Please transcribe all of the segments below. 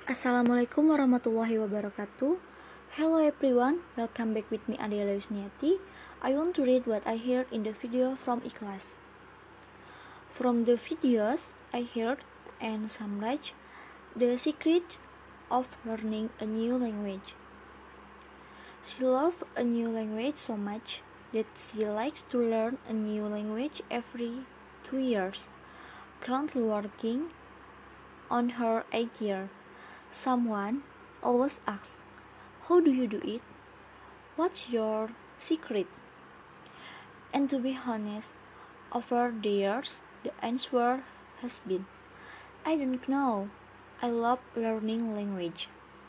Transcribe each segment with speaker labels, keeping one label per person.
Speaker 1: Assalamualaikum warahmatullahi wabarakatuh. Hello everyone, welcome back with me Adela Yusniati. I want to read what I heard in the video from Ikhlas. From the videos I heard and summarized the secret of learning a new language. She loves a new language so much that she likes to learn a new language every 2 years. Currently working on her 8th year. Someone always asks, how do you do it? What's your secret? And to be honest, over the years, the answer has been, I don't know. I love learning language.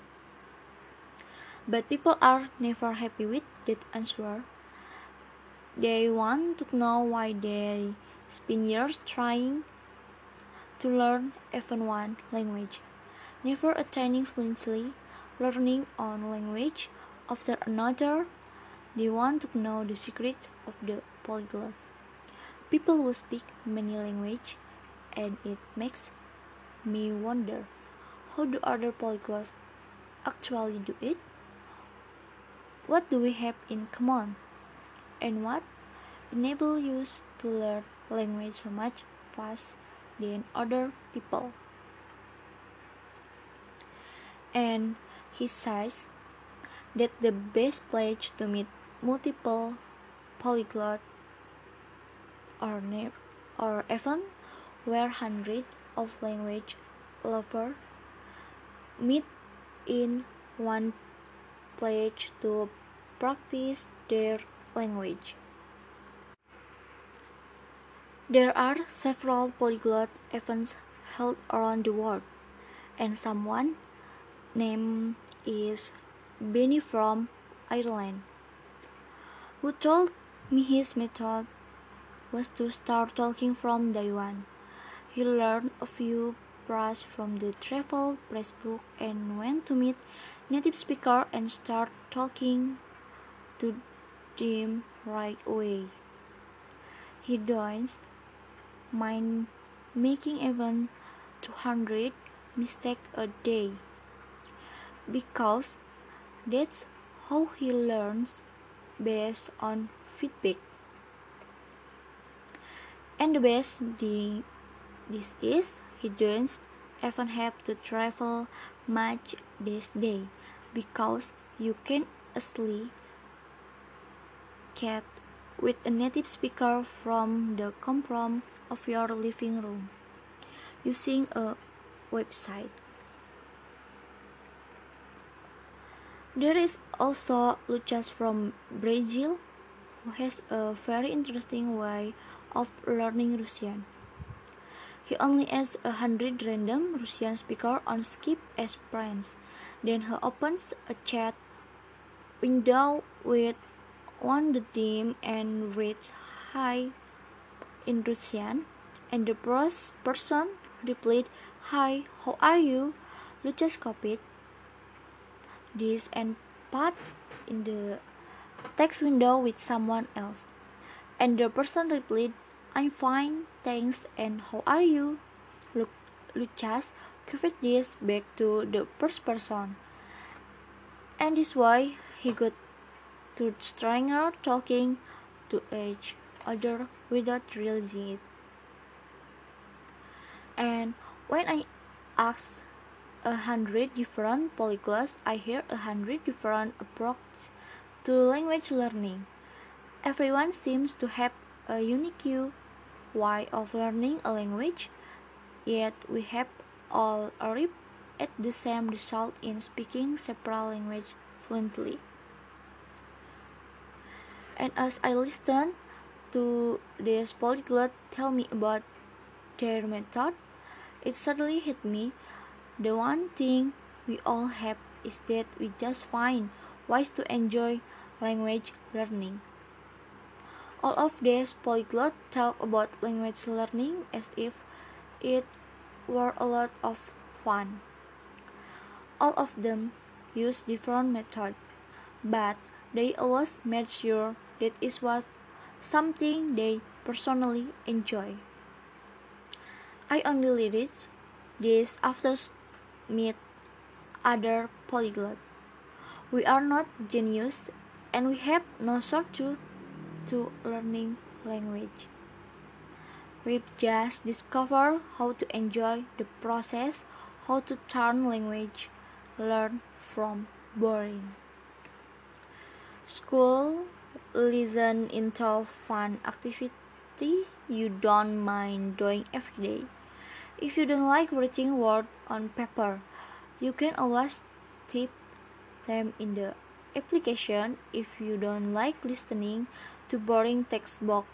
Speaker 1: But people are never happy with that answer. They want to know why they spend years trying to learn even one language, never attaining fluently, learning one language after another. They want to know the secrets of the polyglot. People who speak many languages, and it makes me wonder, how do other polyglots actually do it? What do we have in common? And what enables you to learn language so much faster than other people? And he says that the best place to meet multiple polyglots or even where hundreds of language lovers meet in one place to practice their language. There are several polyglot events held around the world, and someone named is Benny from Ireland, who told me his method was to start talking from day one. He learned a few phrases from the travel pressbook and went to meet native speaker and start talking to them right away. He doesn't mind making even 200 mistakes a day, because that's how he learns, based on feedback. And the best thing this is, he doesn't even have to travel much this day, because you can easily chat with a native speaker from the comfort of your living room using a website. There is also Lucas from Brazil, who has a very interesting way of learning Russian. He only adds 100 random Russian speakers on Skype as friends. Then he opens a chat window with one of them and reads "Hi" in Russian, and the first person replied, "Hi, how are you?" Lucas copied this and put in the text window with someone else, and the person replied, "I'm fine, thanks, and how are you?" Lucas copied this back to the first person, and this way he got to strangers talking to each other without realizing it. And when I asked 100 different polyglots, I hear 100 different approaches to language learning. Everyone seems to have a unique way of learning a language, yet we have all arrived at the same result in speaking several languages fluently. And as I listened to this polyglot tell me about their method, it suddenly hit me. The one thing we all have is that we just find ways to enjoy language learning. All of these polyglots talk about language learning as if it were a lot of fun. All of them use different methods, but they always made sure that it was something they personally enjoy. I only reached this after meet other polyglot. We are not genius and we have no shortcut to learning language. We just discover how to enjoy the process, how to turn language learn from boring school listen into fun activity you don't mind doing every day. If you don't like writing words on paper, you can always type them in the application. If you don't like listening to boring textbook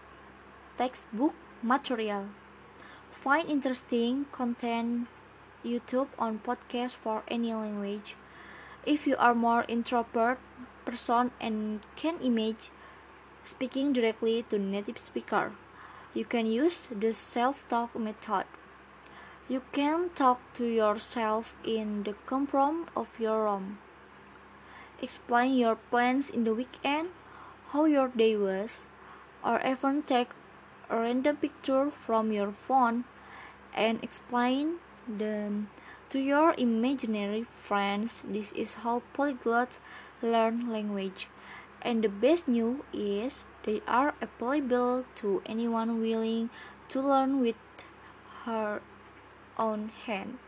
Speaker 1: material, find interesting content YouTube on podcast for any language. If you are more introvert person and can imagine speaking directly to native speaker, you can use the self-talk method. You can talk to yourself in the comfort of your room. Explain your plans in the weekend, how your day was, or even take a random picture from your phone and explain them to your imaginary friends. This is how polyglots learn language. And the best news is they are applicable to anyone willing to learn with her own hand.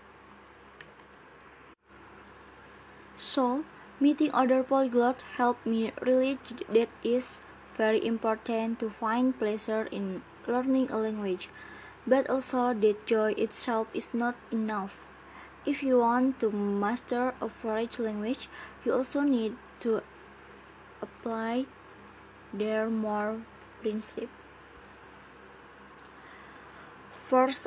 Speaker 1: So, meeting other polyglots helped me realize that it's very important to find pleasure in learning a language, but also that joy itself is not enough. If you want to master a foreign language, you also need to apply their more principles. First,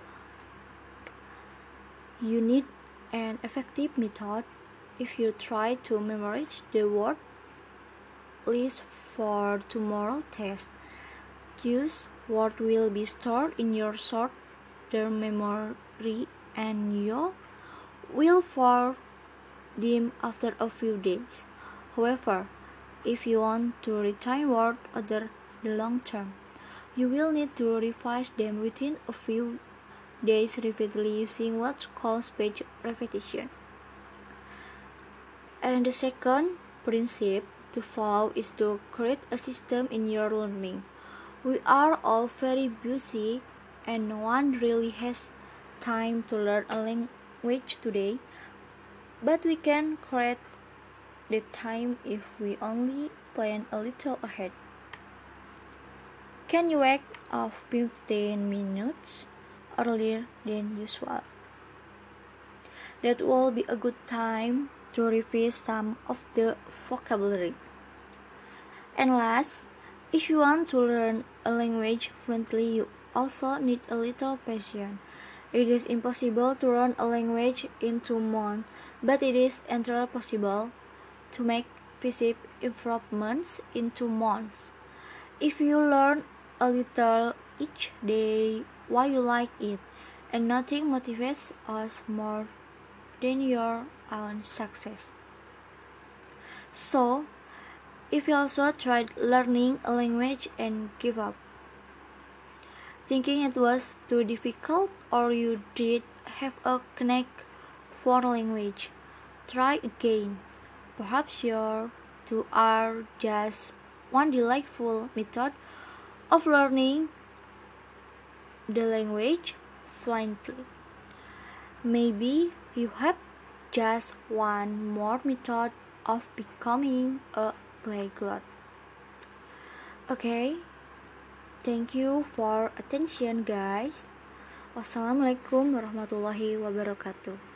Speaker 1: you need an effective method. If you try to memorize the word list for tomorrow's test, use what will be stored in your short-term memory and you will forget them after a few days. However, if you want to retain words over the long term, you will need to revise them within a few days repeatedly using what's called spaced repetition. And the second principle to follow is to create a system in your learning. We are all very busy and no one really has time to learn a language today, but we can create the time if we only plan a little ahead. Can you wake up 15 minutes earlier than usual? That will be a good time to revise some of the vocabulary. And last, if you want to learn a language fluently, you also need a little patience. It is impossible to learn a language in 2 months, but it is entirely possible to make visible improvements in 2 months. If you learn a little each day, why you like it, and nothing motivates us more than your own success. So, if you also tried learning a language and give up, thinking it was too difficult or you did have a knack for language, try again. Perhaps your two are just one delightful method of learning the language fluently. Maybe you have just one more method of becoming a polyglot. Okay, thank you for attention guys. Wassalamualaikum warahmatullahi wabarakatuh.